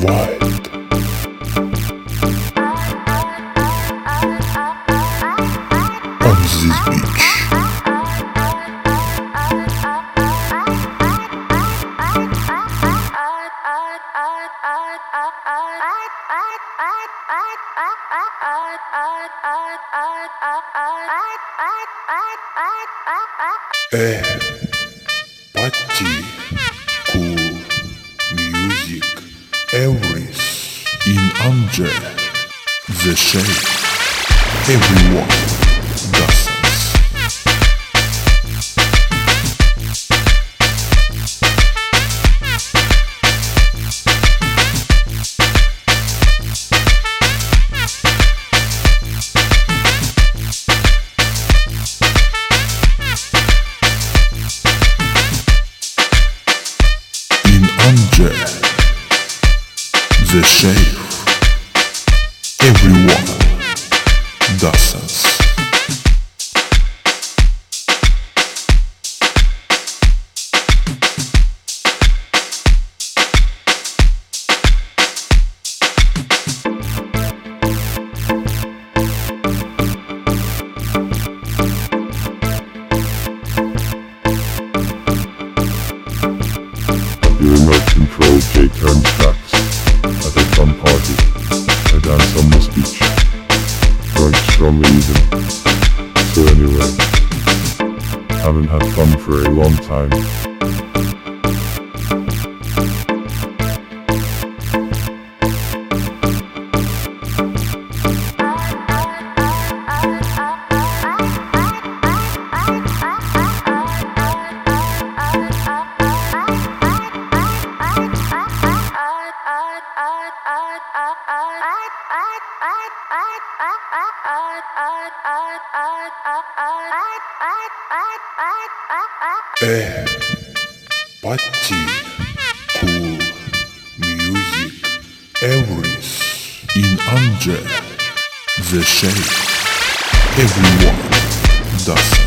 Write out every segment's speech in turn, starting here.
Wild on this beach. Party, cool music, everything in under the shade. Everyone dances. Under the shade, everyone dances. The remote control J turns tracks at a fun party. I dance on this beach, drunk strongly even. So anyway, haven't had fun for a long time. Party, cool music, everything in under the shade. Everyone dances.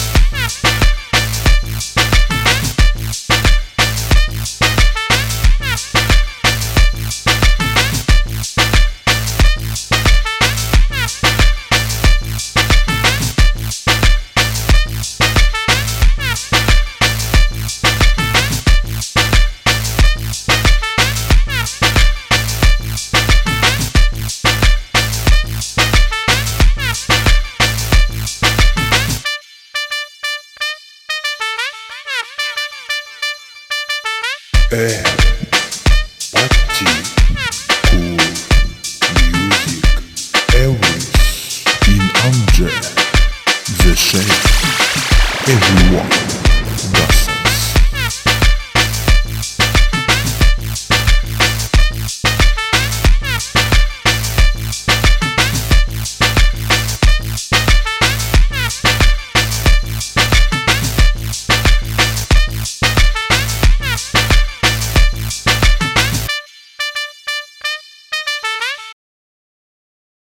Party, cool music, everything in under the shade. Everyone